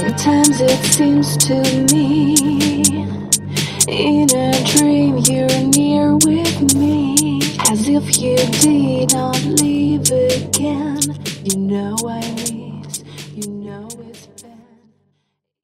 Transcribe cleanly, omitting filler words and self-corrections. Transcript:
Sometimes it seems to me, in a dream you're near with me, as if you did not leave again. You know I miss, you know it's